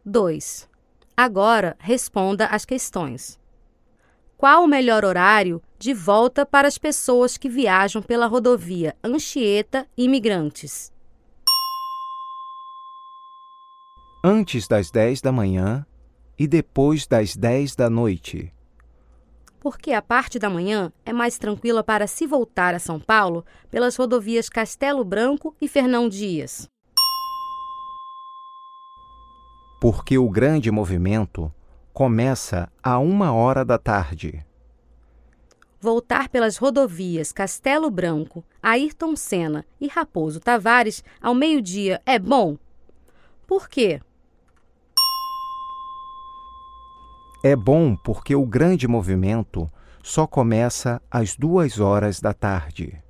2. Agora responda as questões. Qual o melhor horário de volta para as pessoas que viajam pela rodovia Anchieta Imigrantes? Antes das 10 da manhã e depois das 10 da noite. Porque a parte da manhã é mais tranquila para se voltar a São Paulo pelas rodovias Castelo Branco e Fernão Dias. Porque o grande movimento começa a 1h da tarde. Voltar pelas rodovias Castelo Branco, Ayrton Senna e Raposo Tavares ao meio-dia é bom? Por quê? É bom porque o grande movimento só começa às 2h da tarde.